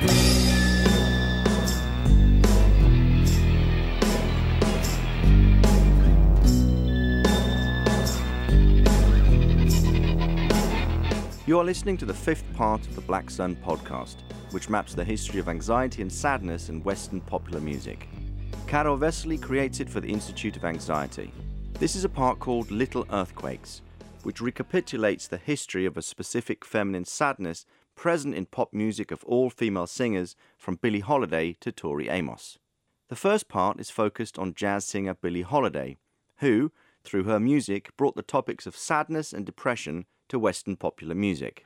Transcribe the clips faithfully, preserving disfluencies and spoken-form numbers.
You are listening to the fifth part of the Black Sun podcast, which maps the history of anxiety and sadness in Western popular music. Karol Vesely creates it for the Institute of Anxiety. This is a part called Little Earthquakes, which recapitulates the history of a specific feminine sadness present in pop music of all female singers from Billie Holiday to Tori Amos. The first part is focused on jazz singer Billie Holiday, who, through her music, brought the topics of sadness and depression to Western popular music.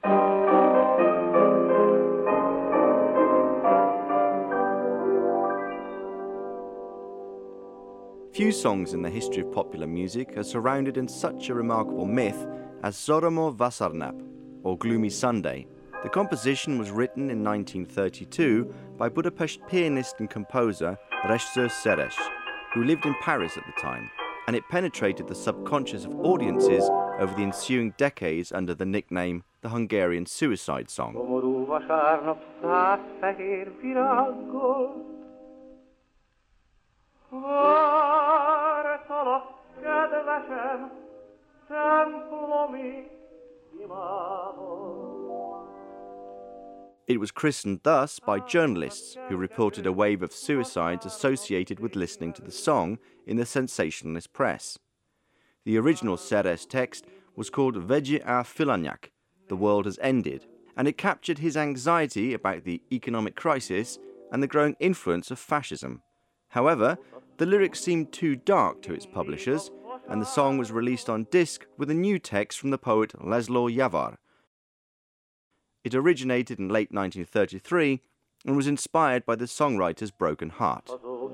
Few songs in the history of popular music are surrounded in such a remarkable myth as Soromo Vasarnap, or Gloomy Sunday. The composition was written in nineteen thirty-two by Budapest pianist and composer Rezső Seres, who lived in Paris at the time, and it penetrated the subconscious of audiences over the ensuing decades under the nickname the Hungarian Suicide Song. It was christened thus by journalists who reported a wave of suicides associated with listening to the song in the sensationalist press. The original Seres text was called Vége a Filanyák, The World Has Ended, and it captured his anxiety about the economic crisis and the growing influence of fascism. However, the lyrics seemed too dark to its publishers, and the song was released on disc with a new text from the poet Laszlo Javár. It originated in late nineteen thirty-three and was inspired by the songwriter's broken heart.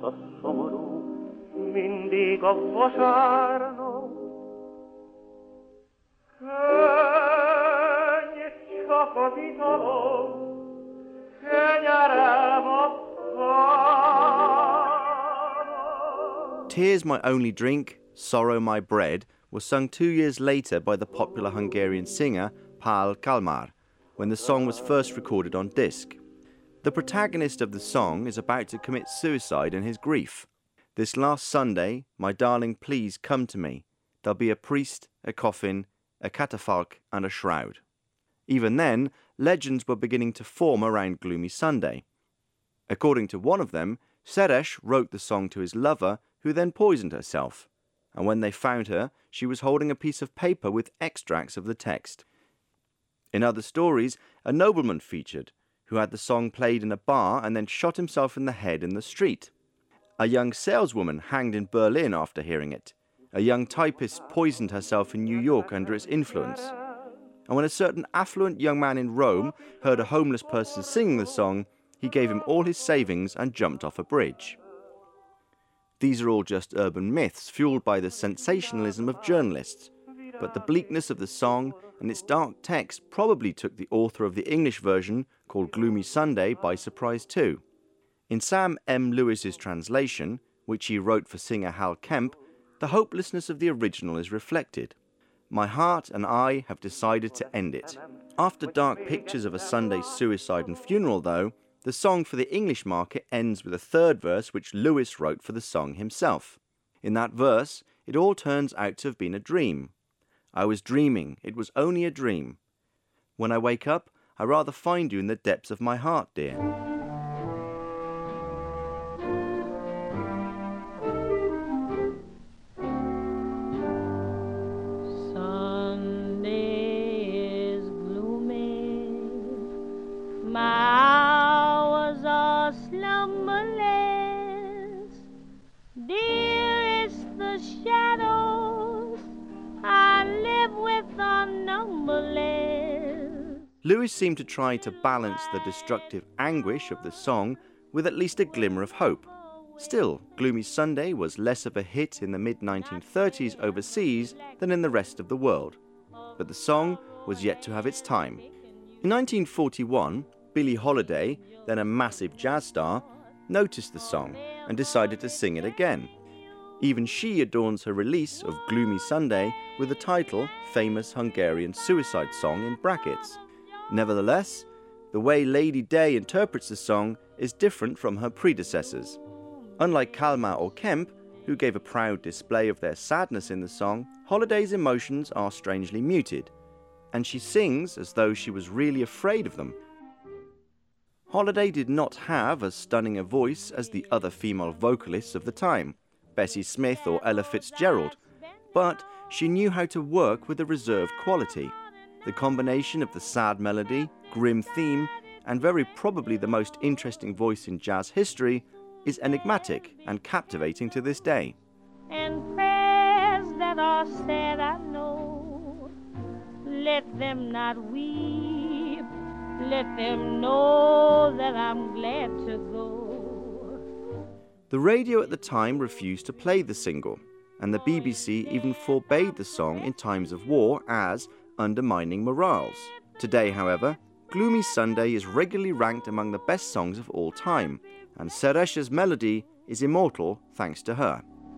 Tears My Only Drink, Sorrow My Bread was sung two years later by the popular Hungarian singer Pál Kalmár, when the song was first recorded on disc. The protagonist of the song is about to commit suicide in his grief. This last Sunday, my darling, please come to me. There'll be a priest, a coffin, a catafalque and a shroud. Even then, legends were beginning to form around Gloomy Sunday. According to one of them, Seres wrote the song to his lover, who then poisoned herself, and when they found her, she was holding a piece of paper with extracts of the text. In other stories, a nobleman featured, who had the song played in a bar and then shot himself in the head in the street. A young saleswoman hanged in Berlin after hearing it. A young typist poisoned herself in New York under its influence. And when a certain affluent young man in Rome heard a homeless person singing the song, he gave him all his savings and jumped off a bridge. These are all just urban myths fueled by the sensationalism of journalists, but the bleakness of the song and its dark text probably took the author of the English version, called Gloomy Sunday, by surprise too. In Sam M. Lewis's translation, which he wrote for singer Hal Kemp, the hopelessness of the original is reflected. My heart and I have decided to end it. After dark pictures of a Sunday's suicide and funeral, though, the song for the English market ends with a third verse which Lewis wrote for the song himself. In that verse, it all turns out to have been a dream. I was dreaming, it was only a dream. When I wake up, I rather find you in the depths of my heart, dear. Lewis seemed to try to balance the destructive anguish of the song with at least a glimmer of hope. Still, Gloomy Sunday was less of a hit in the mid nineteen thirties overseas than in the rest of the world, but the song was yet to have its time. In nineteen forty-one, Billie Holiday, then a massive jazz star, noticed the song and decided to sing it again. Even she adorns her release of Gloomy Sunday with the title Famous Hungarian Suicide Song in brackets. Nevertheless, the way Lady Day interprets the song is different from her predecessors. Unlike Kalmar or Kemp, who gave a proud display of their sadness in the song, Holiday's emotions are strangely muted, and she sings as though she was really afraid of them. Holiday did not have as stunning a voice as the other female vocalists of the time, Bessie Smith or Ella Fitzgerald, but she knew how to work with a reserved quality. The combination of the sad melody, grim theme, and very probably the most interesting voice in jazz history is enigmatic and captivating to this day. And prayers that are said, I know, let them not weep, let them know that I'm glad to go. The radio at the time refused to play the single, and the B B C even forbade the song in times of war as undermining morals. Today, however, Gloomy Sunday is regularly ranked among the best songs of all time, and Suresha's melody is immortal thanks to her.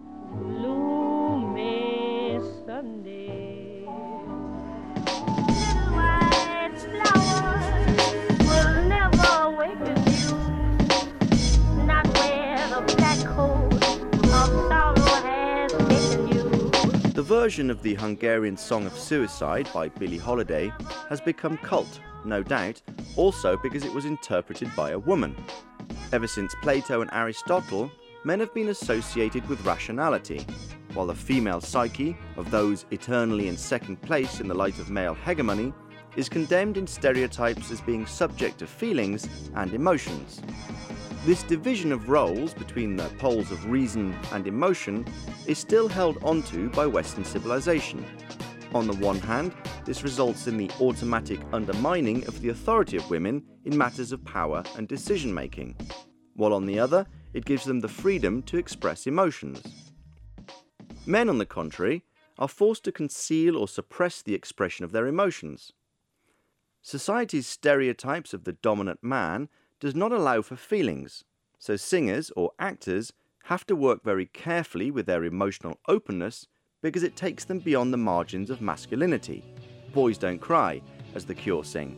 Gloomy Sunday, little white flowers will never awaken you, not where the black coat of sorrow has taken you. The version of the Hungarian Song of Suicide by Billie Holiday has become cult, no doubt, also because it was interpreted by a woman. Ever since Plato and Aristotle, men have been associated with rationality, while the female psyche of those eternally in second place in the light of male hegemony is condemned in stereotypes as being subject to feelings and emotions. This division of roles between the poles of reason and emotion is still held onto by Western civilization. On the one hand, this results in the automatic undermining of the authority of women in matters of power and decision-making, while on the other, it gives them the freedom to express emotions. Men, on the contrary, are forced to conceal or suppress the expression of their emotions. Society's stereotypes of the dominant man does not allow for feelings, so singers or actors have to work very carefully with their emotional openness because it takes them beyond the margins of masculinity. Boys don't cry, as The Cure sing.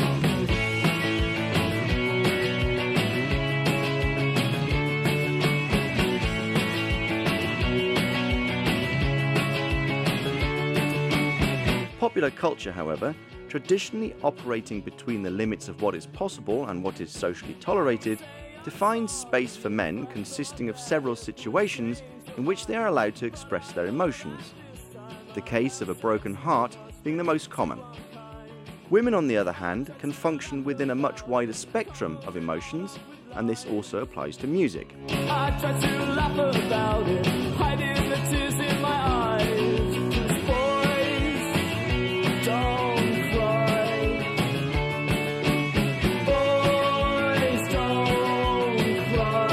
Popular culture, however, traditionally operating between the limits of what is possible and what is socially tolerated, defines space for men consisting of several situations in which they are allowed to express their emotions, the case of a broken heart being the most common. Women, on the other hand, can function within a much wider spectrum of emotions, and this also applies to music. I try to laugh about it, hiding the tears in my eyes. Boys, don't cry. Boys, don't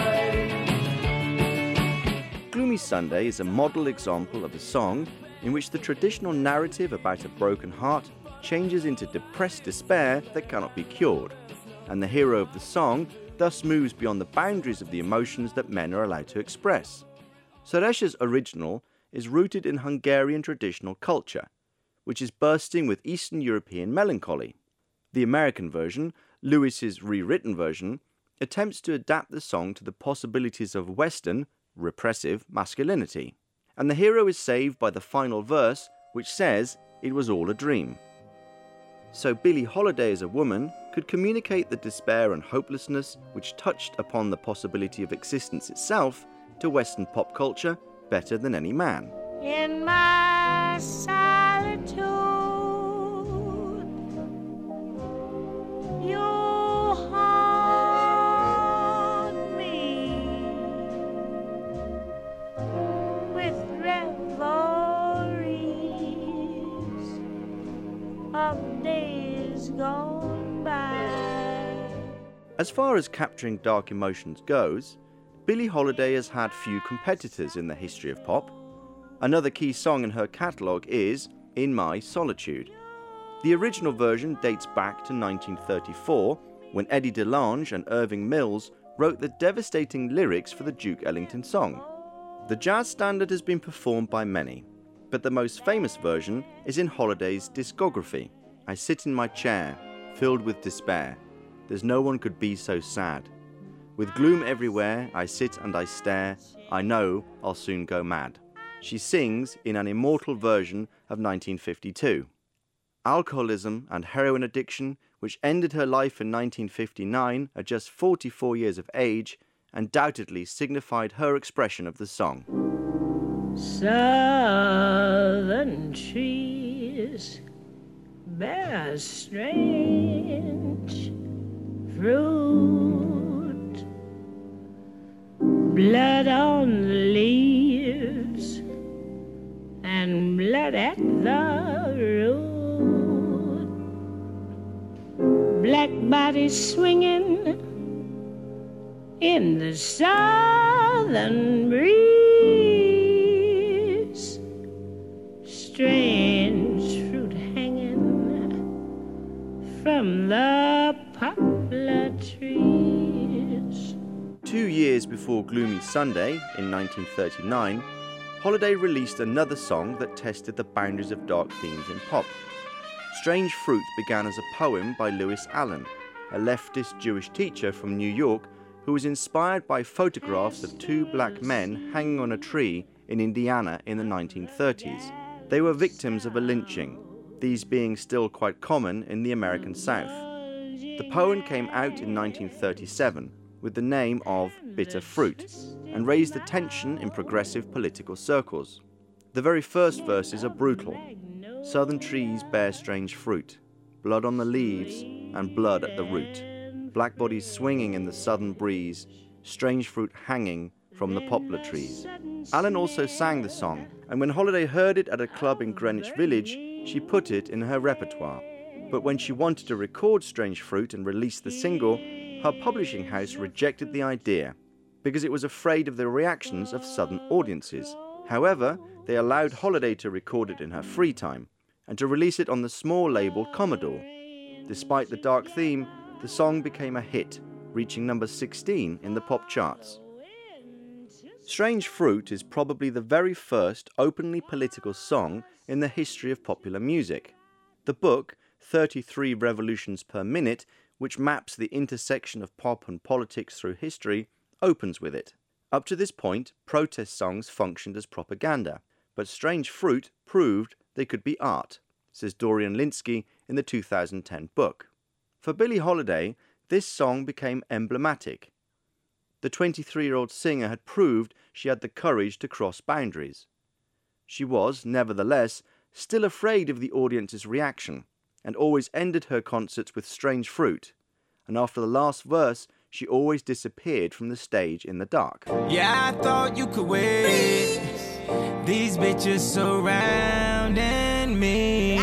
cry. Gloomy Sunday is a model example of a song in which the traditional narrative about a broken heart changes into depressed despair that cannot be cured, and the hero of the song thus moves beyond the boundaries of the emotions that men are allowed to express. Suresha's original is rooted in Hungarian traditional culture, which is bursting with Eastern European melancholy. The American version, Lewis's rewritten version, attempts to adapt the song to the possibilities of Western, repressive masculinity. And the hero is saved by the final verse, which says it was all a dream. So Billie Holiday as a woman could communicate the despair and hopelessness which touched upon the possibility of existence itself to Western pop culture better than any man. In my solitude, you haunt me with reveries of days gone by. As far as capturing dark emotions goes, Billie Holiday has had few competitors in the history of pop. Another key song in her catalogue is In My Solitude. The original version dates back to nineteen thirty-four, when Eddie DeLange and Irving Mills wrote the devastating lyrics for the Duke Ellington song. The jazz standard has been performed by many, but the most famous version is in Holiday's discography, I Sit in My Chair, Filled with Despair, there's no one could be so sad. With gloom everywhere, I sit and I stare, I know I'll soon go mad. She sings in an immortal version of nineteen fifty-two. Alcoholism and heroin addiction, which ended her life in nineteen fifty-nine at just forty-four years of age, undoubtedly signified her expression of the song. Southern trees bear strange fruit, blood on the leaves and blood at the root, black bodies swinging in the southern breeze, strange fruit hanging from the poplar trees. Two years before Gloomy Sunday, in nineteen thirty-nine, Holiday released another song that tested the boundaries of dark themes in pop. Strange Fruit began as a poem by Lewis Allen, a leftist Jewish teacher from New York who was inspired by photographs of two black men hanging on a tree in Indiana in the nineteen thirties. They were victims of a lynching, these being still quite common in the American South. The poem came out in nineteen thirty-seven with the name of Bitter Fruit and raised attention in progressive political circles. The very first verses are brutal. Southern trees bear strange fruit, blood on the leaves and blood at the root. Black bodies swinging in the southern breeze, strange fruit hanging from the poplar trees. Allen also sang the song, and when Holiday heard it at a club in Greenwich Village, she put it in her repertoire. But when she wanted to record Strange Fruit and release the single, her publishing house rejected the idea because it was afraid of the reactions of southern audiences. However, they allowed Holiday to record it in her free time and to release it on the small label Commodore. Despite the dark theme, the song became a hit, reaching number sixteen in the pop charts. Strange Fruit is probably the very first openly political song in the history of popular music. The book, thirty-three Revolutions per Minute, which maps the intersection of pop and politics through history, opens with it. Up to this point, protest songs functioned as propaganda, but Strange Fruit proved they could be art, says Dorian Lynskey in the two thousand ten book. For Billie Holiday, this song became emblematic. The twenty-three-year-old singer had proved she had the courage to cross boundaries. She was, nevertheless, still afraid of the audience's reaction, and always ended her concerts with Strange Fruit, and after the last verse, she always disappeared from the stage in the dark. Yeah, I thought you could wait. These bitches surrounding me.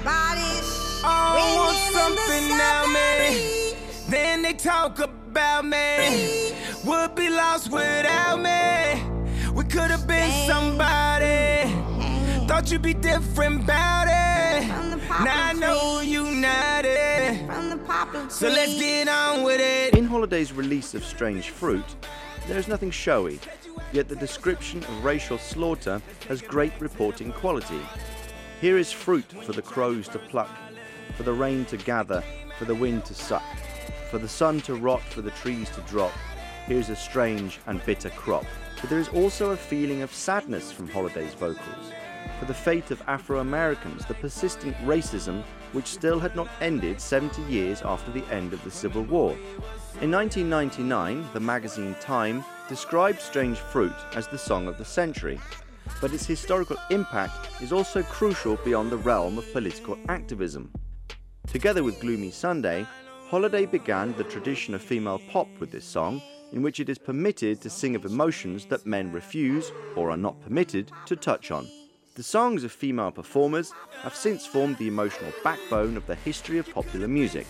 Oh, I want something now, man. Then they talk about me. Would be lost without me. We could have been somebody. Thought you'd be different about it. Now I know you united. So let's get on with it. In Holiday's release of Strange Fruit, there is nothing showy, yet the description of racial slaughter has great reporting quality. Here is fruit for the crows to pluck, for the rain to gather, for the wind to suck, for the sun to rot, for the trees to drop. Here's a strange and bitter crop. But there is also a feeling of sadness from Holiday's vocals, for the fate of Afro-Americans, the persistent racism which still had not ended seventy years after the end of the Civil War. In nineteen ninety-nine, the magazine Time described Strange Fruit as the song of the century, but its historical impact is also crucial beyond the realm of political activism. Together with Gloomy Sunday, Holiday began the tradition of female pop with this song, in which it is permitted to sing of emotions that men refuse, or are not permitted, to touch on. The songs of female performers have since formed the emotional backbone of the history of popular music.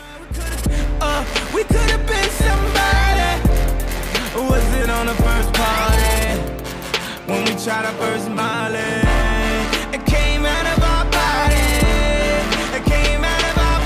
Uh, we could have been somebody. Was it on the first party? When we tried our first Molly? It came out of our body. It came out of our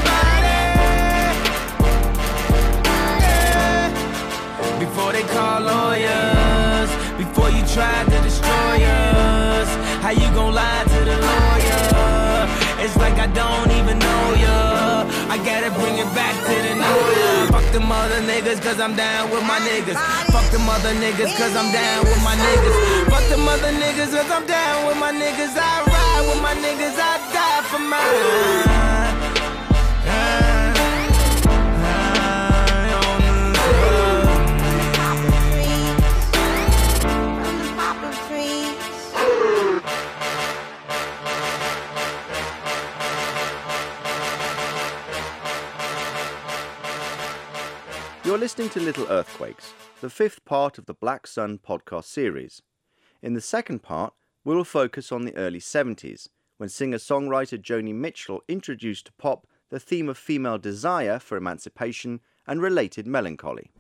body. Yeah. Before they call lawyers, before you tried to destroy us, how you gon' lie to the lawyer? It's like I don't even know ya. I gotta bring it back to the new. Fuck them other niggas, cause I'm down with my niggas. Fuck them other niggas, cause I'm down with my niggas. Fuck them other niggas, cause I'm down with my niggas. I ride with my niggas, I die for mine. You're listening to Little Earthquakes, the fifth part of the Black Sun podcast series. In the second part, we will focus on the early seventies, when singer-songwriter Joni Mitchell introduced to pop the theme of female desire for emancipation and related melancholy.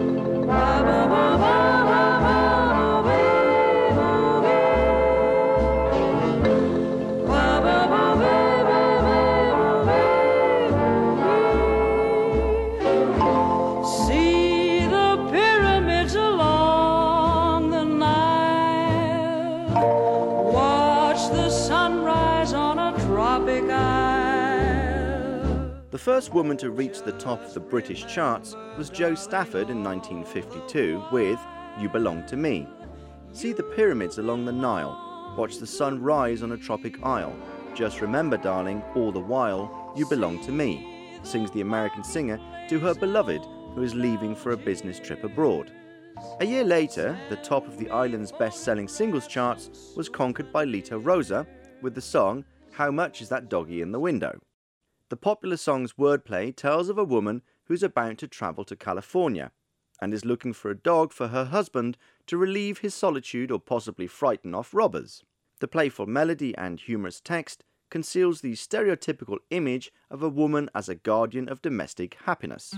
The first woman to reach the top of the British charts was Jo Stafford in nineteen fifty-two with You Belong to Me. See the pyramids along the Nile, watch the sun rise on a tropic isle. Just remember, darling, all the while, you belong to me, sings the American singer to her beloved who is leaving for a business trip abroad. A year later, the top of the island's best-selling singles charts was conquered by Lita Rosa with the song How Much Is That Doggy in the Window? The popular song's wordplay tells of a woman who's about to travel to California and is looking for a dog for her husband to relieve his solitude or possibly frighten off robbers. The playful melody and humorous text conceals the stereotypical image of a woman as a guardian of domestic happiness.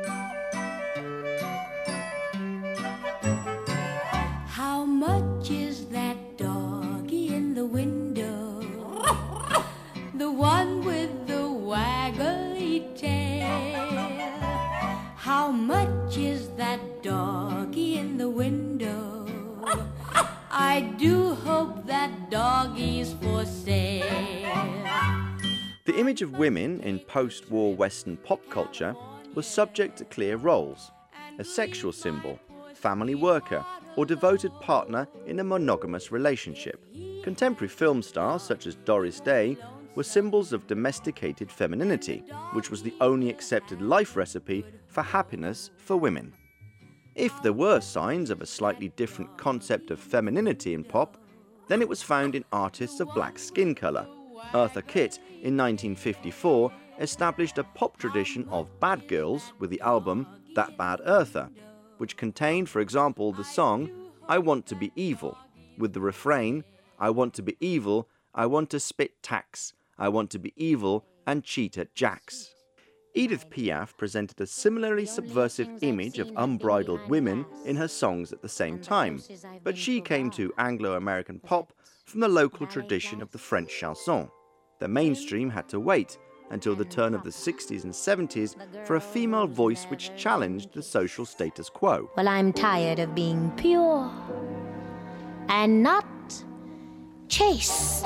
How much is that doggy in the window? The one with the waggly tail. How much is that doggy in the window? I do hope that doggy's for sale. The image of women in post-war Western pop culture was subject to clear roles: a sexual symbol, family worker, or devoted partner in a monogamous relationship. Contemporary film stars such as Doris Day were symbols of domesticated femininity, which was the only accepted life recipe for happiness for women. If there were signs of a slightly different concept of femininity in pop, then it was found in artists of black skin colour. Eartha Kitt in nineteen fifty-four established a pop tradition of bad girls with the album That Bad Eartha, which contained, for example, the song I Want to Be Evil, with the refrain I want to be evil, I want to spit tax, I want to be evil and cheat at jacks. Edith Piaf presented a similarly subversive image of unbridled women in her songs at the same time, but she came to Anglo-American pop from the local tradition of the French chanson. The mainstream had to wait until the turn of the sixties and seventies for a female voice which challenged the social status quo. Well, I'm tired of being pure and not chaste,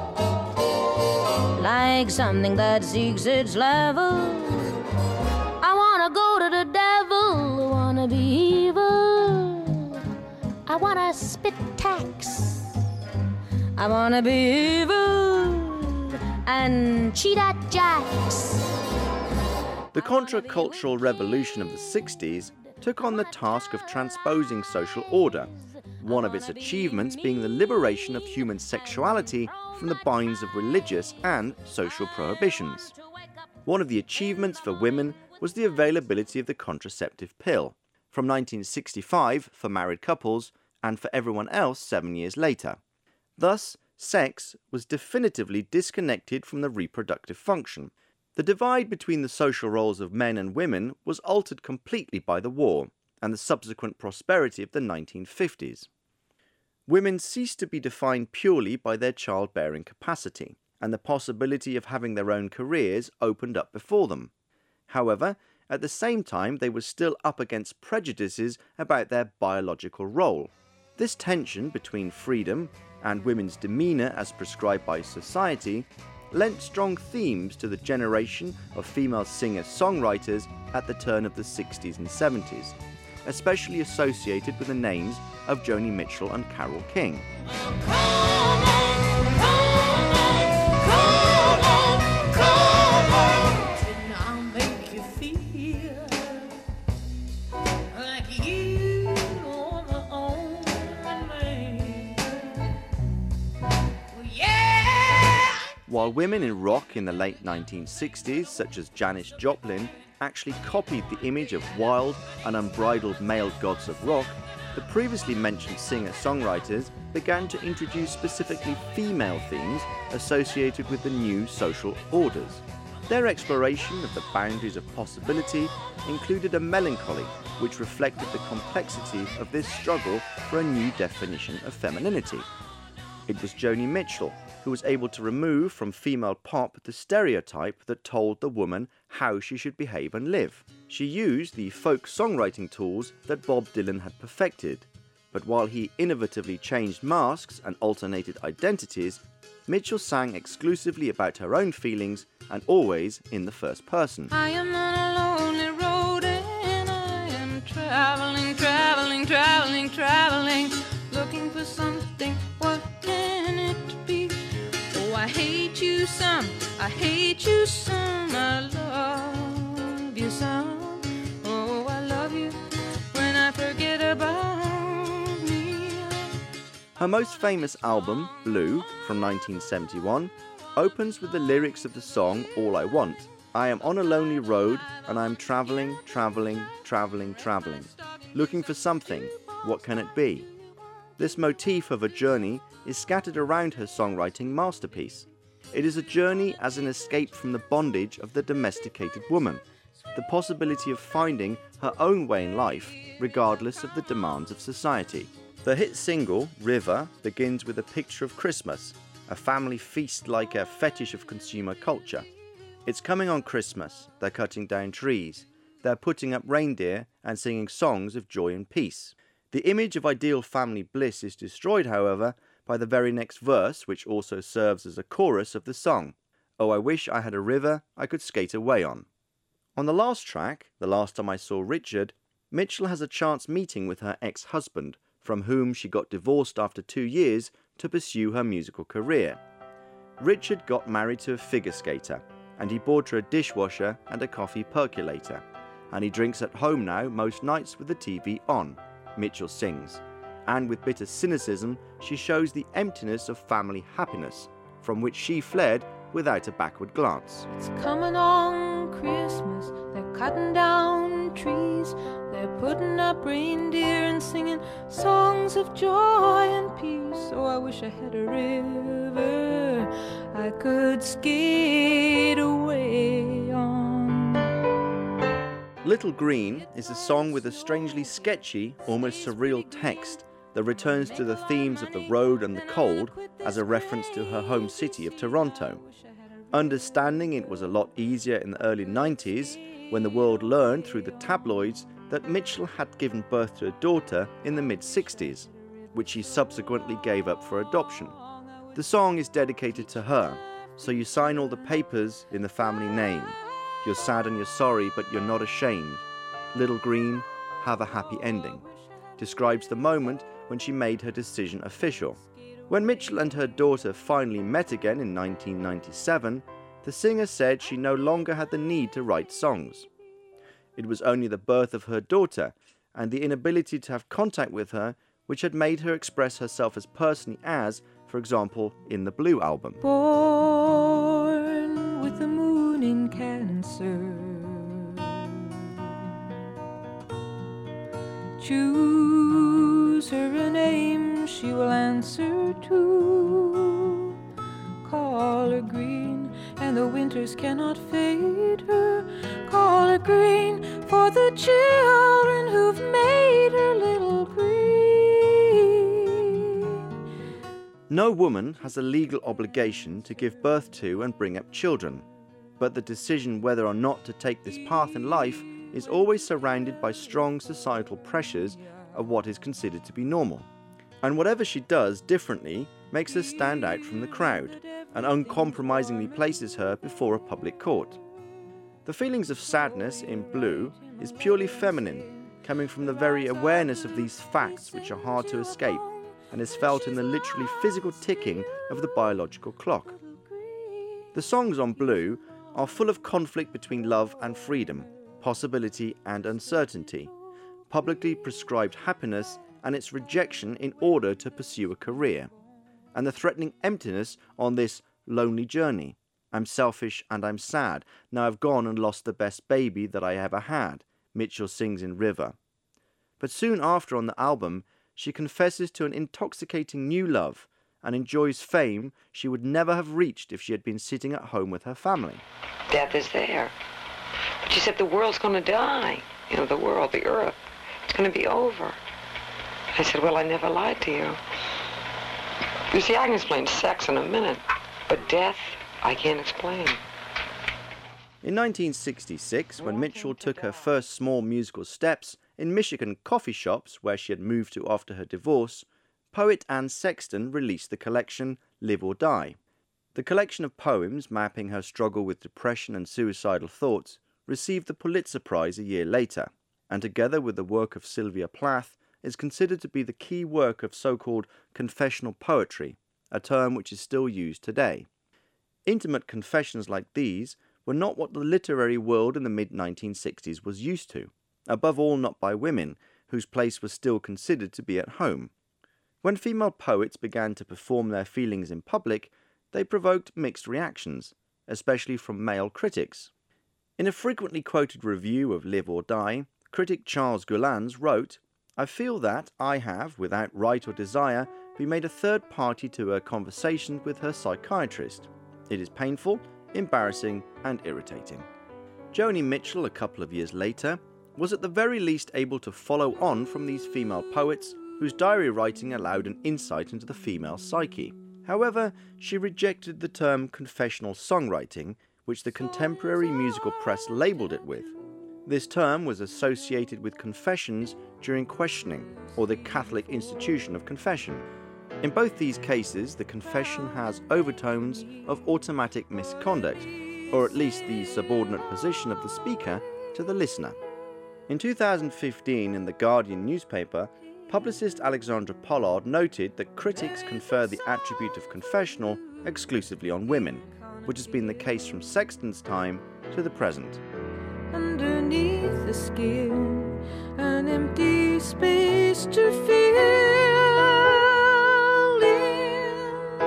like something that seeks its level. I wanna go to the devil, I wanna be evil, I wanna spit tax, I wanna be evil and cheat at jacks. The contra-cultural revolution of the sixties took on the task of transposing social order, one of its achievements being the liberation of human sexuality from the binds of religious and social prohibitions. One of the achievements for women was the availability of the contraceptive pill, from nineteen sixty-five for married couples and for everyone else seven years later. Thus, sex was definitively disconnected from the reproductive function. The divide between the social roles of men and women was altered completely by the war and the subsequent prosperity of the nineteen fifties. Women ceased to be defined purely by their childbearing capacity, and the possibility of having their own careers opened up before them. However, at the same time, they were still up against prejudices about their biological role. This tension between freedom and women's demeanour as prescribed by society lent strong themes to the generation of female singer-songwriters at the turn of the sixties and seventies, especially associated with the names of Joni Mitchell and Carole King. While women in rock in the late nineteen sixties, such as Janis Joplin, actually copied the image of wild and unbridled male gods of rock, the previously mentioned singer-songwriters began to introduce specifically female themes associated with the new social orders. Their exploration of the boundaries of possibility included a melancholy which reflected the complexity of this struggle for a new definition of femininity. It was Joni Mitchell who was able to remove from female pop the stereotype that told the woman how she should behave and live. She used the folk songwriting tools that Bob Dylan had perfected, but while he innovatively changed masks and alternated identities, Mitchell sang exclusively about her own feelings and always in the first person. I am on a lonely road and I am traveling, traveling, traveling, traveling, looking for something. What can it be? Oh, I hate you some, I hate you some, I love you some. Oh, I love you when I forget about me. Her most famous album, Blue, from nineteen seventy-one, opens with the lyrics of the song All I Want. I am on a lonely road and I am traveling, traveling, traveling, traveling, looking for something. What can it be? This motif of a journey is scattered around her songwriting masterpiece. It is a journey as an escape from the bondage of the domesticated woman, the possibility of finding her own way in life, regardless of the demands of society. The hit single, River, begins with a picture of Christmas, a family feast like a fetish of consumer culture. It's coming on Christmas, they're cutting down trees, they're putting up reindeer and singing songs of joy and peace. The image of ideal family bliss is destroyed, however, by the very next verse, which also serves as a chorus of the song. Oh, I wish I had a river I could skate away on. On the last track, The Last Time I Saw Richard, Mitchell has a chance meeting with her ex-husband, from whom she got divorced after two years to pursue her musical career. Richard got married to a figure skater, and he bought her a dishwasher and a coffee percolator, and he drinks at home now most nights with the T V on. Mitchell sings, and with bitter cynicism, she shows the emptiness of family happiness, from which she fled without a backward glance. It's coming on Christmas, they're cutting down trees, they're putting up reindeer and singing songs of joy and peace. Oh, I wish I had a river I could skate away on. Little Green is a song with a strangely sketchy, almost surreal text that returns to the themes of the road and the cold as a reference to her home city of Toronto. Understanding it was a lot easier in the early nineties when the world learned through the tabloids that Mitchell had given birth to a daughter in the mid-sixties, which she subsequently gave up for adoption. The song is dedicated to her, so you sign all the papers in the family name. You're sad and you're sorry, but you're not ashamed. Little Green, have a happy ending. Describes the moment when she made her decision official. When Mitchell and her daughter finally met again in nineteen ninety-seven, the singer said she no longer had the need to write songs. It was only the birth of her daughter and the inability to have contact with her which had made her express herself as personally as, for example, in the Blue album. Born with the moon in Cancer, choose her a name she will answer to. Call her green, and the winters cannot fade her. Call her green for the children who've made her little green. No woman has a legal obligation to give birth to and bring up children, but the decision whether or not to take this path in life is always surrounded by strong societal pressures of what is considered to be normal. And whatever she does differently makes her stand out from the crowd. and uncompromisingly places her before a public court. The feelings of sadness in Blue is purely feminine, coming from the very awareness of these facts which are hard to escape, and is felt in the literally physical ticking of the biological clock. The songs on Blue are full of conflict between love and freedom, possibility and uncertainty, publicly prescribed happiness and its rejection in order to pursue a career, and the threatening emptiness on this lonely journey. I'm selfish and I'm sad. Now I've gone and lost the best baby that I ever had, Mitchell sings in River. But soon after on the album, she confesses to an intoxicating new love and enjoys fame she would never have reached if she had been sitting at home with her family. Death is there. But she said the world's going to die. You know, the world, the earth. It's going to be over. I said, well, I never lied to you. You see, I can explain sex in a minute, but death, I can't explain. In nineteen sixty-six, when Mitchell took her first small musical steps in Michigan coffee shops where she had moved to after her divorce, poet Anne Sexton released the collection Live or Die. The collection of poems mapping her struggle with depression and suicidal thoughts received the Pulitzer Prize a year later, and together with the work of Sylvia Plath, is considered to be the key work of so-called confessional poetry, a term which is still used today. Intimate confessions like these were not what the literary world in the mid nineteen sixties was used to, above all not by women, whose place was still considered to be at home. When female poets began to perform their feelings in public, they provoked mixed reactions, especially from male critics. In a frequently quoted review of Live or Die, critic Charles Goulans wrote, I feel that I have, without right or desire, been made a third party to her conversations with her psychiatrist. It is painful, embarrassing, and irritating. Joni Mitchell, a couple of years later, was at the very least able to follow on from these female poets whose diary writing allowed an insight into the female psyche. However, she rejected the term confessional songwriting, which the contemporary musical press labelled it with. This term was associated with confessions during questioning, or the Catholic institution of confession. In both these cases, the confession has overtones of automatic misconduct, or at least the subordinate position of the speaker to the listener. In two thousand fifteen, in The Guardian newspaper, publicist Alexandra Pollard noted that critics confer the attribute of confessional exclusively on women, which has been the case from Sexton's time to the present. Underneath the skin, an empty space to fill in.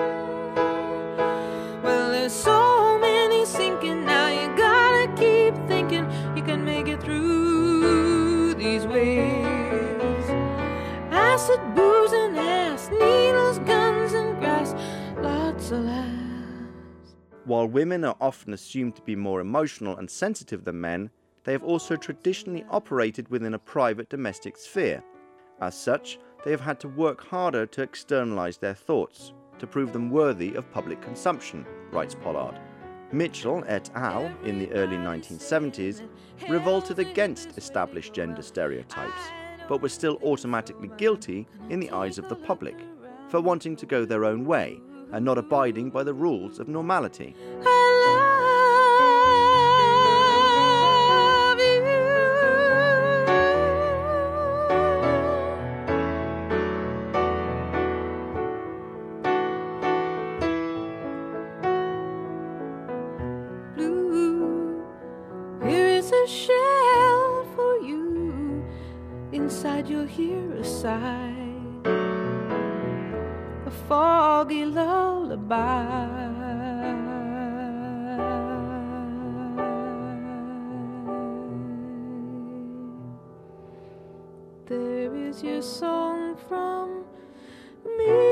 Well, there's so many sinking now, you gotta keep thinking you can make it through these waves. Acid, booze, and ass, needles, guns, and grass, lots of laughs. While women are often assumed to be more emotional and sensitive than men, they have also traditionally operated within a private domestic sphere. As such, they have had to work harder to externalize their thoughts, to prove them worthy of public consumption, writes Pollard. Mitchell et al. In the early nineteen seventies revolted against established gender stereotypes, but were still automatically guilty in the eyes of the public for wanting to go their own way and not abiding by the rules of normality. Blue, here is a shell for you. Inside you'll hear a sigh, a foggy lullaby. There is your song from me.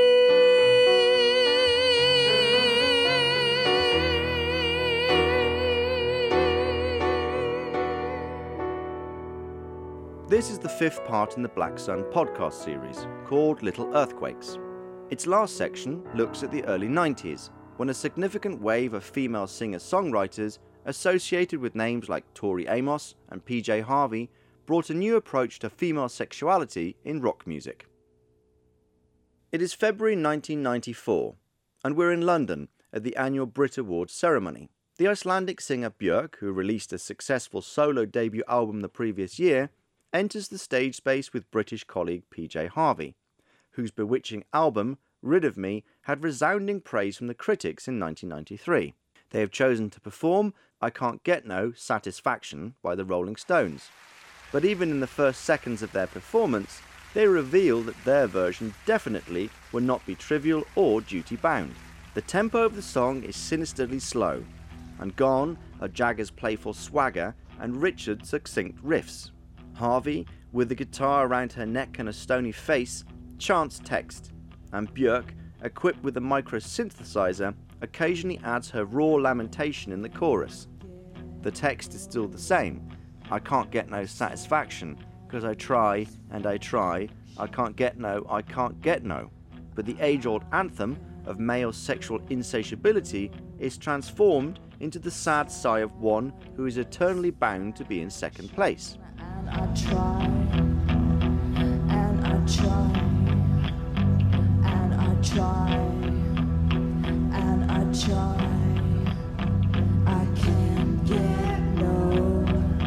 This is the fifth part in the Black Sun podcast series, called Little Earthquakes. Its last section looks at the early nineties, when a significant wave of female singer-songwriters associated with names like Tori Amos and P J Harvey brought a new approach to female sexuality in rock music. It is February nineteen ninety-four, and we're in London at the annual Brit Awards ceremony. The Icelandic singer Björk, who released a successful solo debut album the previous year, enters the stage space with British colleague P J Harvey, whose bewitching album, Rid of Me, had resounding praise from the critics in nineteen ninety-three. They have chosen to perform I Can't Get No Satisfaction by the Rolling Stones. But even in the first seconds of their performance, they reveal that their version definitely will not be trivial or duty-bound. The tempo of the song is sinisterly slow, and gone are Jagger's playful swagger and Richard's succinct riffs. Harvey, with the guitar around her neck and a stony face, chants text, and Björk, equipped with a micro-synthesizer, occasionally adds her raw lamentation in the chorus. The text is still the same. I can't get no satisfaction, because I try and I try, I can't get no, I can't get no. But the age-old anthem of male sexual insatiability is transformed into the sad sigh of one who is eternally bound to be in second place. And I try, and I try, and I try, and I try, I can't get no,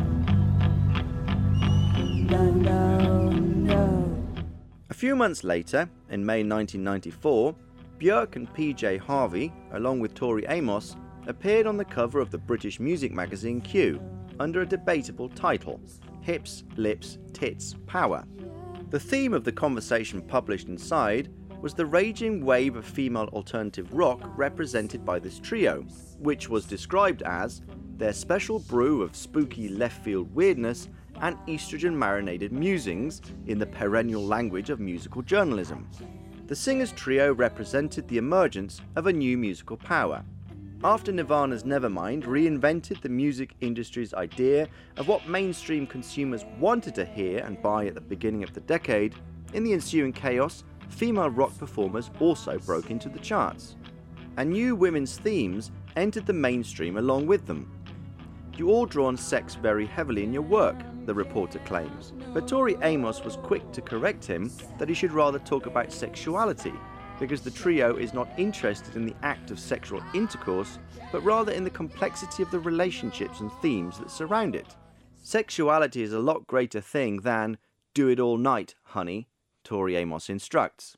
no, no, no. A few months later, in May nineteen ninety-four, Björk and P J Harvey, along with Tori Amos, appeared on the cover of the British music magazine Q under a debatable title, Hips, Lips, Tits, Power. The theme of the conversation published inside was the raging wave of female alternative rock represented by this trio, which was described as their special brew of spooky left-field weirdness and estrogen-marinated musings in the perennial language of musical journalism. The singers trio represented the emergence of a new musical power. After Nirvana's Nevermind reinvented the music industry's idea of what mainstream consumers wanted to hear and buy at the beginning of the decade, in the ensuing chaos, female rock performers also broke into the charts. And new women's themes entered the mainstream along with them. You all draw on sex very heavily in your work, the reporter claims, but Tori Amos was quick to correct him that he should rather talk about sexuality, because the trio is not interested in the act of sexual intercourse, but rather in the complexity of the relationships and themes that surround it. Sexuality is a lot greater thing than do it all night, honey, Tori Amos instructs.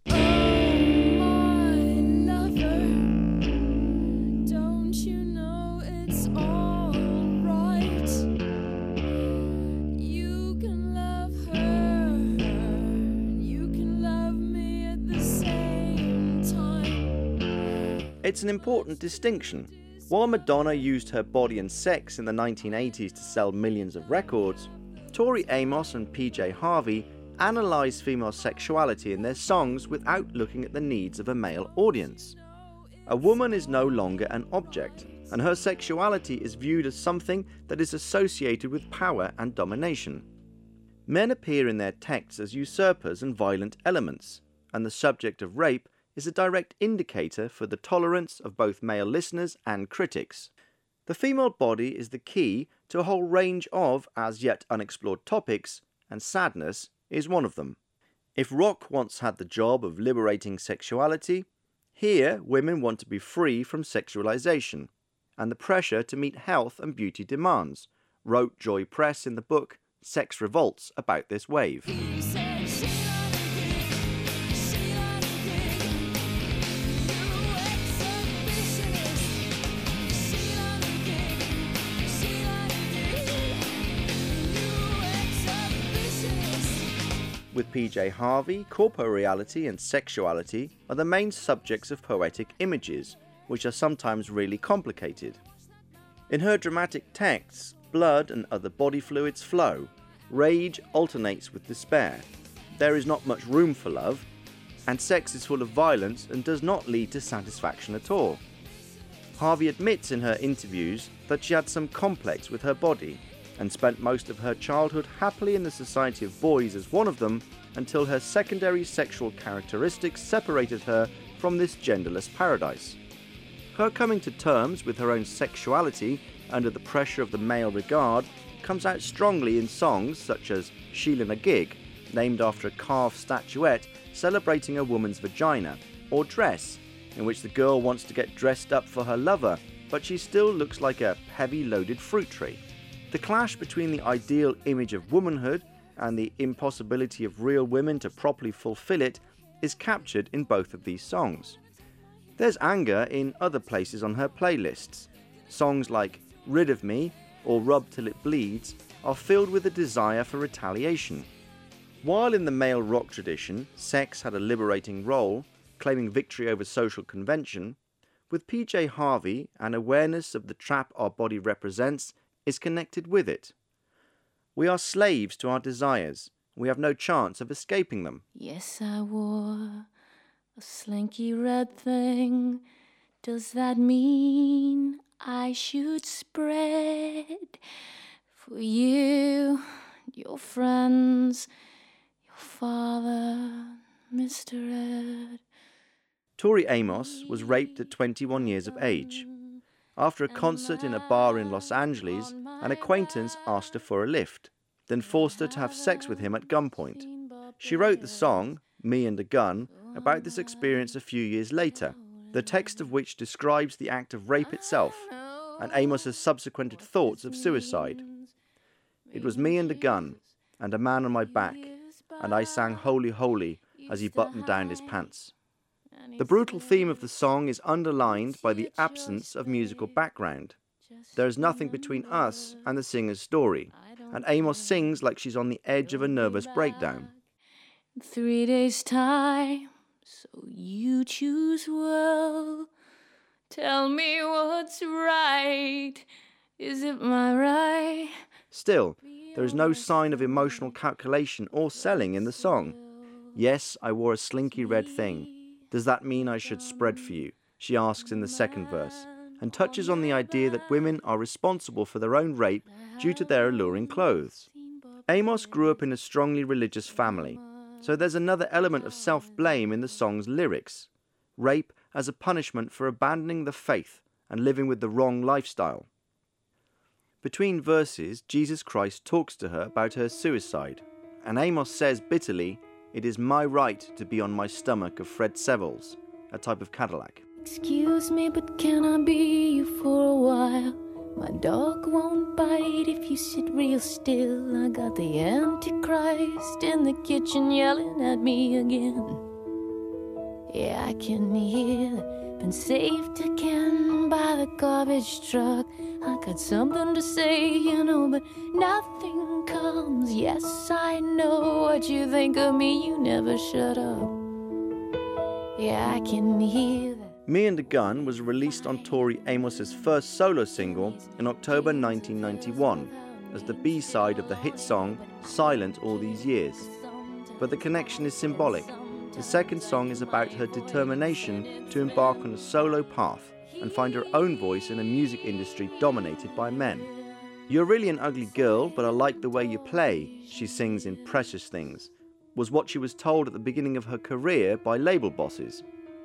It's an important distinction. While Madonna used her body and sex in the nineteen eighties to sell millions of records, Tori Amos and P J Harvey analysed female sexuality in their songs without looking at the needs of a male audience. A woman is no longer an object, and her sexuality is viewed as something that is associated with power and domination. Men appear in their texts as usurpers and violent elements, and the subject of rape is a direct indicator for the tolerance of both male listeners and critics. The female body is the key to a whole range of as yet unexplored topics, and sadness is one of them. If rock once had the job of liberating sexuality, here women want to be free from sexualization and the pressure to meet health and beauty demands, wrote Joy Press in the book Sex Revolts about this wave. With P J Harvey, corporeality and sexuality are the main subjects of poetic images, which are sometimes really complicated. In her dramatic texts, blood and other body fluids flow, rage alternates with despair, there is not much room for love, and sex is full of violence and does not lead to satisfaction at all. Harvey admits in her interviews that she had some complex with her body, and spent most of her childhood happily in the society of boys as one of them, until her secondary sexual characteristics separated her from this genderless paradise. Her coming to terms with her own sexuality under the pressure of the male regard comes out strongly in songs such as Sheila Na Gig, named after a carved statuette celebrating a woman's vagina, or Dress, in which the girl wants to get dressed up for her lover, but she still looks like a heavy-loaded fruit tree. The clash between the ideal image of womanhood and the impossibility of real women to properly fulfill it is captured in both of these songs. There's anger in other places on her playlists. Songs like Rid of Me or Rub Till It Bleeds are filled with a desire for retaliation. While in the male rock tradition, sex had a liberating role, claiming victory over social convention, with P J Harvey, an awareness of the trap our body represents is connected with it. We are slaves to our desires. We have no chance of escaping them. Yes, I wore a slinky red thing. Does that mean I should spread for you, your friends, your father, Mister Ed? Tori Amos was raped at twenty-one years of age. After a concert in a bar in Los Angeles, an acquaintance asked her for a lift, then forced her to have sex with him at gunpoint. She wrote the song, Me and a Gun, about this experience a few years later, the text of which describes the act of rape itself, and Amos's subsequent thoughts of suicide. It was me and a gun, and a man on my back, and I sang Holy, Holy as he buttoned down his pants. The brutal theme of the song is underlined by the absence of musical background. There is nothing between us and the singer's story, and Amos sings like she's on the edge of a nervous breakdown. Three days' time, so you choose well. Tell me what's right. Is it my right? Still, there is no sign of emotional calculation or selling in the song. Yes, I wore a slinky red thing. Does that mean I should spread for you? She asks in the second verse, and touches on the idea that women are responsible for their own rape due to their alluring clothes. Amos grew up in a strongly religious family, so there's another element of self-blame in the song's lyrics. Rape as a punishment for abandoning the faith and living with the wrong lifestyle. Between verses, Jesus Christ talks to her about her suicide, and Amos says bitterly, "It is my right to be on my stomach of Fred Sevilles, a type of Cadillac." Excuse me, but can I be you for a while? My dog won't bite if you sit real still. I got the Antichrist in the kitchen yelling at me again. Yeah, I can hear it. Been saved again by the garbage truck. I got something to say, you know, but nothing comes. Yes, I know what you think of me. You never shut up. Yeah, I can hear that. Me and a Gun was released on Tori Amos's first solo single in October nineteen ninety-one as the B-side of the hit song Silent All These Years. But the connection is symbolic. The second song is about her determination to embark on a solo path and find her own voice in a music industry dominated by men. "You're really an ugly girl, but I like the way you play," she sings in Precious Things, was what she was told at the beginning of her career by label bosses.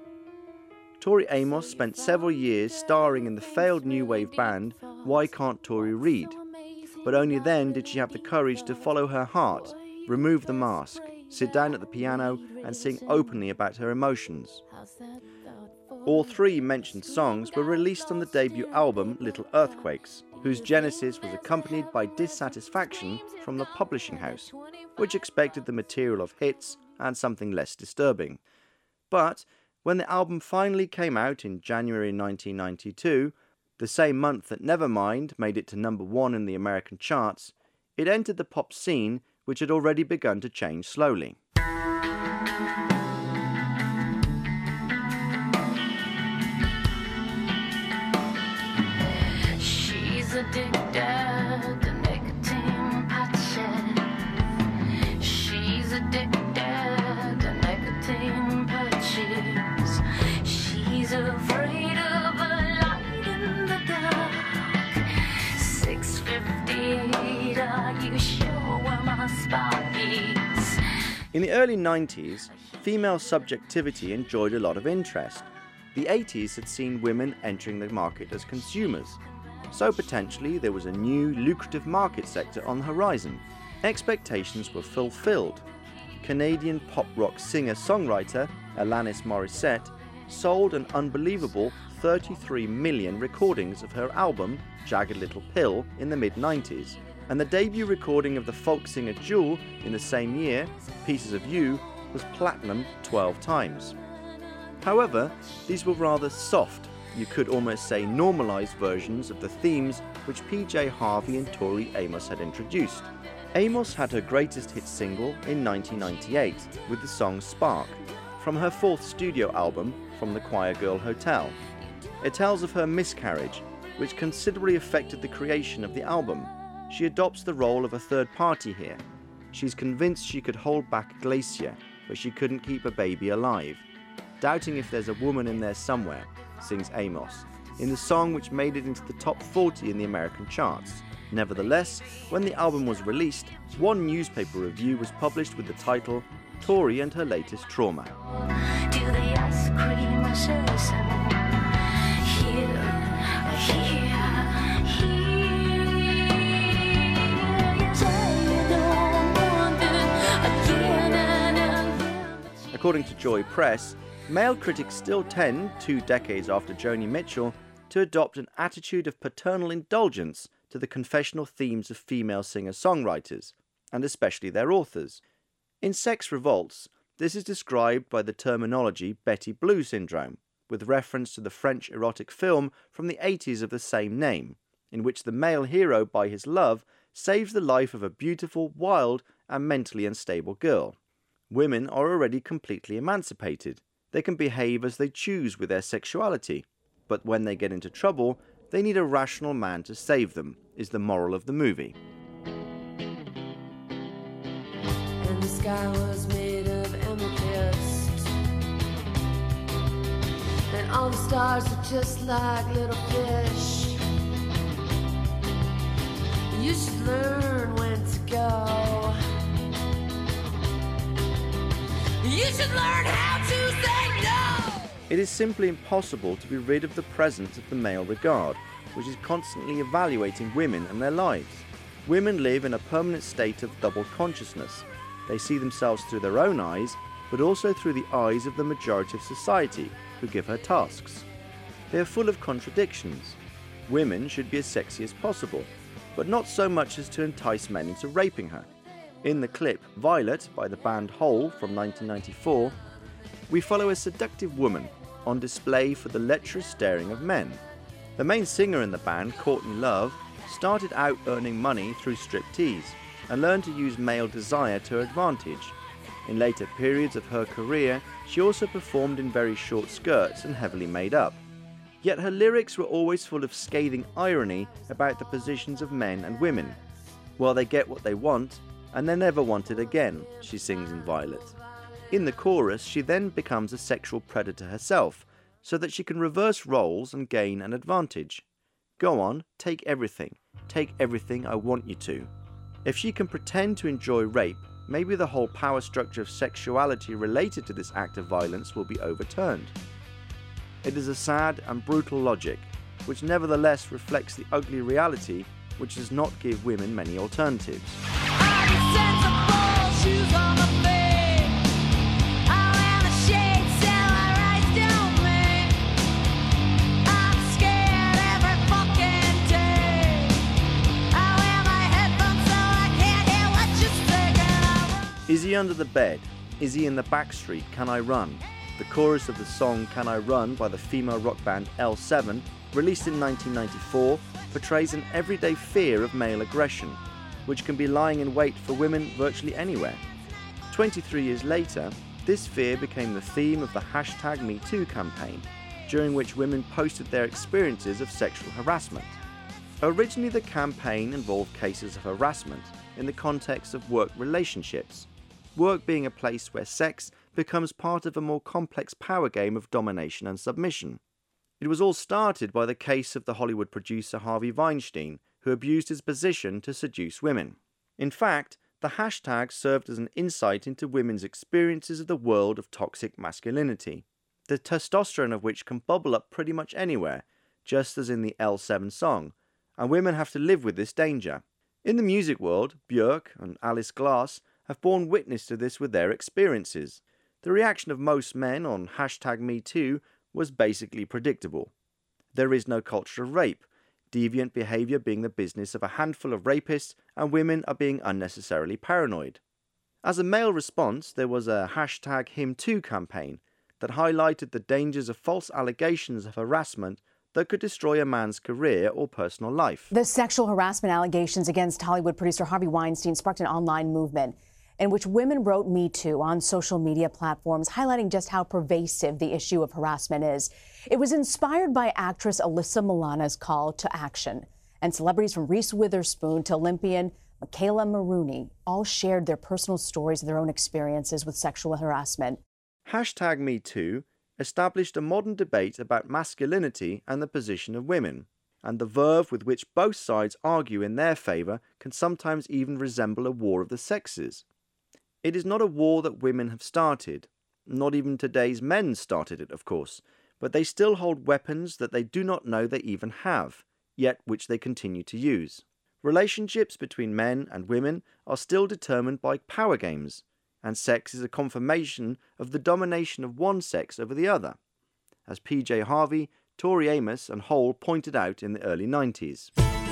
Tori Amos spent several years starring in the failed new wave band Why Can't Tori Read? But only then did she have the courage to follow her heart, remove the mask, sit down at the piano and sing openly about her emotions. All three mentioned songs were released on the debut album Little Earthquakes, whose genesis was accompanied by dissatisfaction from the publishing house, which expected the material of hits and something less disturbing. But when the album finally came out in January nineteen ninety-two, the same month that Nevermind made it to number one in the American charts, it entered the pop scene, which had already begun to change slowly. She's addicted to nicotine patches. She's addicted to nicotine patches. She's afraid of a light in the dark. six fifty-eight, are you sure where my spot is? In the early nineties, female subjectivity enjoyed a lot of interest. The eighties had seen women entering the market as consumers, so potentially there was a new lucrative market sector on the horizon. Expectations were fulfilled. Canadian pop rock singer-songwriter Alanis Morissette sold an unbelievable thirty-three million recordings of her album Jagged Little Pill in the mid nineties, and the debut recording of the folk singer Jewel in the same year, Pieces of You, was platinum twelve times. However, these were rather soft, you could almost say normalised versions of the themes which P J Harvey and Tori Amos had introduced. Amos had her greatest hit single in nineteen ninety-eight with the song Spark, from her fourth studio album, From the Choir Girl Hotel. It tells of her miscarriage, which considerably affected the creation of the album. She adopts the role of a third party here. She's convinced she could hold back Glacier, but she couldn't keep a baby alive. Doubting if there's a woman in there somewhere, sings Amos, in the song which made it into the top forty in the American charts. Nevertheless, when the album was released, one newspaper review was published with the title Tori and Her Latest Trauma. Do the ice cream ashes here, here, here. You say you don't want it again and again. According to Joy Press, male critics still tend, two decades after Joni Mitchell, to adopt an attitude of paternal indulgence to the confessional themes of female singer-songwriters, and especially their authors. In Sex Revolts, this is described by the terminology Betty Blue syndrome, with reference to the French erotic film from the eighties of the same name, in which the male hero, by his love, saves the life of a beautiful, wild, and mentally unstable girl. Women are already completely emancipated. They can behave as they choose with their sexuality, but when they get into trouble, they need a rational man to save them, is the moral of the movie. And the sky was made of amethyst, and all the stars were just like little fish. You should learn when to go. You should learn how to say no. It is simply impossible to be rid of the presence of the male regard, which is constantly evaluating women and their lives. Women live in a permanent state of double consciousness. They see themselves through their own eyes, but also through the eyes of the majority of society, who give her tasks. They are full of contradictions. Women should be as sexy as possible, but not so much as to entice men into raping her. In the clip Violet by the band Hole from nineteen ninety-four, we follow a seductive woman on display for the lecherous staring of men. The main singer in the band, Courtney Love, started out earning money through striptease and learned to use male desire to her advantage. In later periods of her career, she also performed in very short skirts and heavily made up. Yet her lyrics were always full of scathing irony about the positions of men and women. Well, they get what they want, and they never want it again, she sings in Violet. In the chorus, she then becomes a sexual predator herself, so that she can reverse roles and gain an advantage. Go on, take everything. Take everything I want you to. If she can pretend to enjoy rape, maybe the whole power structure of sexuality related to this act of violence will be overturned. It is a sad and brutal logic, which nevertheless reflects the ugly reality which does not give women many alternatives. Is he under the bed? Is he in the back street? Can I run? The chorus of the song Can I Run by the female rock band L seven, released in nineteen ninety-four, portrays an everyday fear of male aggression, which can be lying in wait for women virtually anywhere. twenty-three years later, this fear became the theme of the hashtag Me Too campaign, during which women posted their experiences of sexual harassment. Originally, the campaign involved cases of harassment in the context of work relationships, work being a place where sex becomes part of a more complex power game of domination and submission. It was all started by the case of the Hollywood producer Harvey Weinstein, who abused his position to seduce women. In fact, the hashtag served as an insight into women's experiences of the world of toxic masculinity, the testosterone of which can bubble up pretty much anywhere, just as in the L seven song, and women have to live with this danger. In the music world, Björk and Alice Glass have borne witness to this with their experiences. The reaction of most men on hashtag Me Too was basically predictable. There is no culture of rape, deviant behaviour being the business of a handful of rapists, and women are being unnecessarily paranoid. As a male response, there was a hashtag him too campaign that highlighted the dangers of false allegations of harassment that could destroy a man's career or personal life. The sexual harassment allegations against Hollywood producer Harvey Weinstein sparked an online movement in which women wrote Me Too on social media platforms, highlighting just how pervasive the issue of harassment is. It was inspired by actress Alyssa Milano's call to action, and celebrities from Reese Witherspoon to Olympian Michaela Maroney all shared their personal stories of their own experiences with sexual harassment. Hashtag Me Too established a modern debate about masculinity and the position of women, and the verve with which both sides argue in their favour can sometimes even resemble a war of the sexes. It is not a war that women have started. Not even today's men started it, of course, but they still hold weapons that they do not know they even have, yet which they continue to use. Relationships between men and women are still determined by power games, and sex is a confirmation of the domination of one sex over the other, as P J Harvey, Tori Amos and Hole pointed out in the early nineties.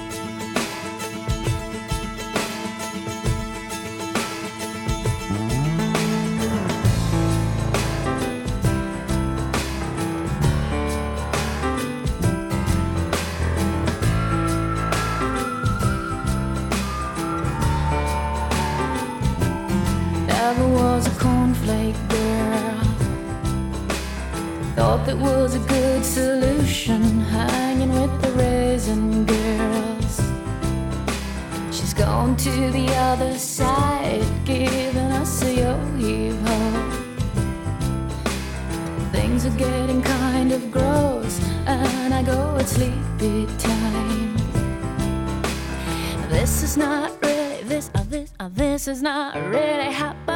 Never was a cornflake girl. Thought that was a good solution, hanging with the raisin girls. She's gone to the other side, giving us a yo-heave-ho. Things are getting kind of gross, and I go at sleepy time. This is not really, this, uh, this, uh, this is not really happening.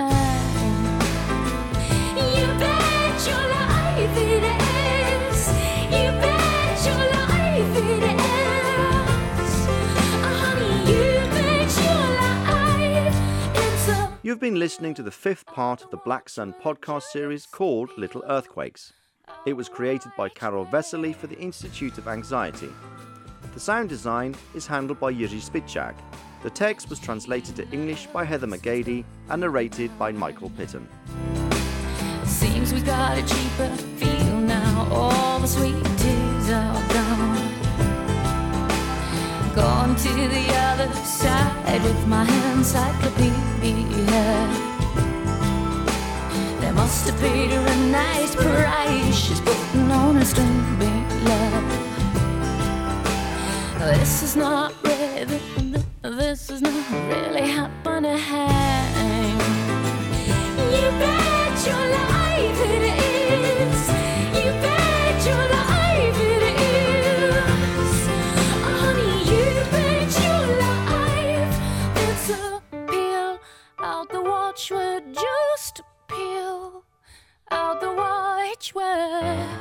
You bet your life it is. You bet your life it is. Oh, honey, you bet your life it's a... You've been listening to the fifth part of the Black Sun podcast series called Little Earthquakes. It was created by Karol Vesely for the Institute of Anxiety. The sound design is handled by Jiří Spitchak. The text was translated to English by Heather McGady and narrated by Michael Pitton. Seems we got a cheaper feel now. All the sweet teas are gone. Gone to the other side with my encyclopedia. They must have paid her a nice price. She's putting on a string big love. This is not really, this is not really happening. You bet your life it is. You bet your life it is. Honey, you bet your life. It's a peel out the watchword, just a peel out the watchword.